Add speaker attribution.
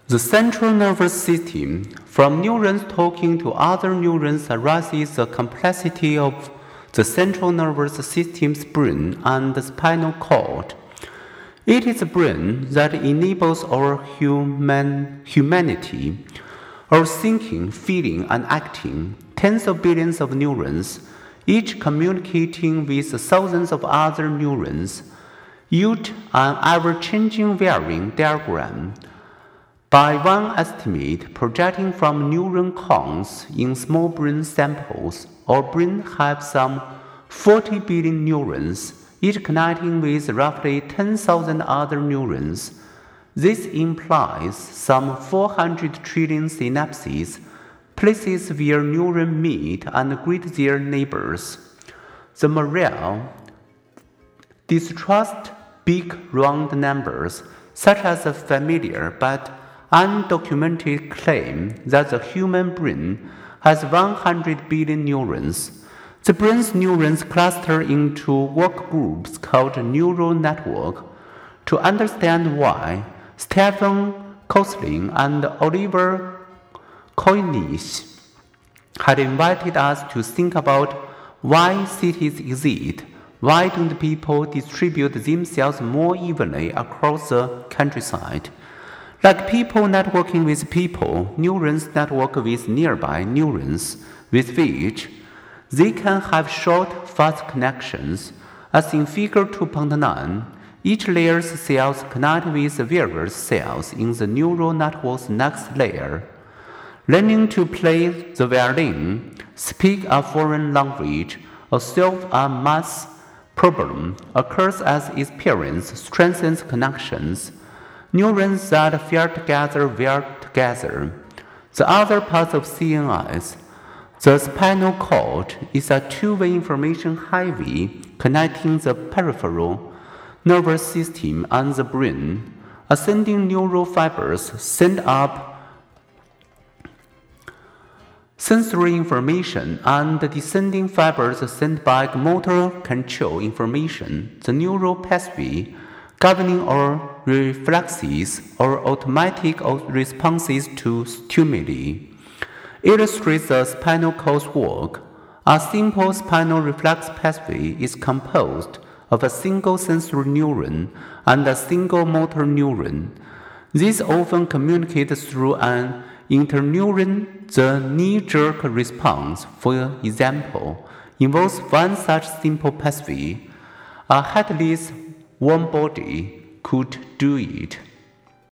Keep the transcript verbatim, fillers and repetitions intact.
Speaker 1: The central nervous system, from neurons talking to other neurons, arises the complexity of the central nervous system's brain and the spinal cord. It is the brain that enables our human, humanity, our thinking, feeling, and acting. Tens of billions of neurons, each communicating with thousands of other neurons, yield an ever-changing varying diagram. By one estimate, projecting from neuron counts in small brain samples, our brain has some forty billion neurons, each connecting with roughly ten thousand other neurons. This implies some four hundred trillion synapses, places where neurons meet and greet their neighbors. The morale distrust big round numbers, such as the familiar but undocumented claim that the human brain has one hundred billion neurons. The brain's neurons cluster into work groups called neural network. To understand why, Stephen Kosslyn and Oliver Koinish had invited us to think about why cities exist. Why don't people distribute themselves more evenly across the countryside? Like people networking with people, neurons network with nearby neurons, with which they can have short, fast connections. As in Figure two point nine, each layer's cells connect with various cells in the neural network's next layer. Learning to play the violin, speak a foreign language, or solve a math problem occurs as experience strengthens connections. Neurons that fire together wire together. The other part of C N S, the spinal cord, is a two-way information highway connecting the peripheral nervous system and the brain. Ascending neural fibers send up sensory information, and descending fibers send back motor control information. The neural pathway governing our reflexes or automatic responses to stimuli illustrates the spinal cord's work. A simple spinal reflex pathway is composed of a single sensory neuron and a single motor neuron. These often communicate through an interneuron. The knee-jerk response, for example, involves one such simple pathway. A headless warm body could do it.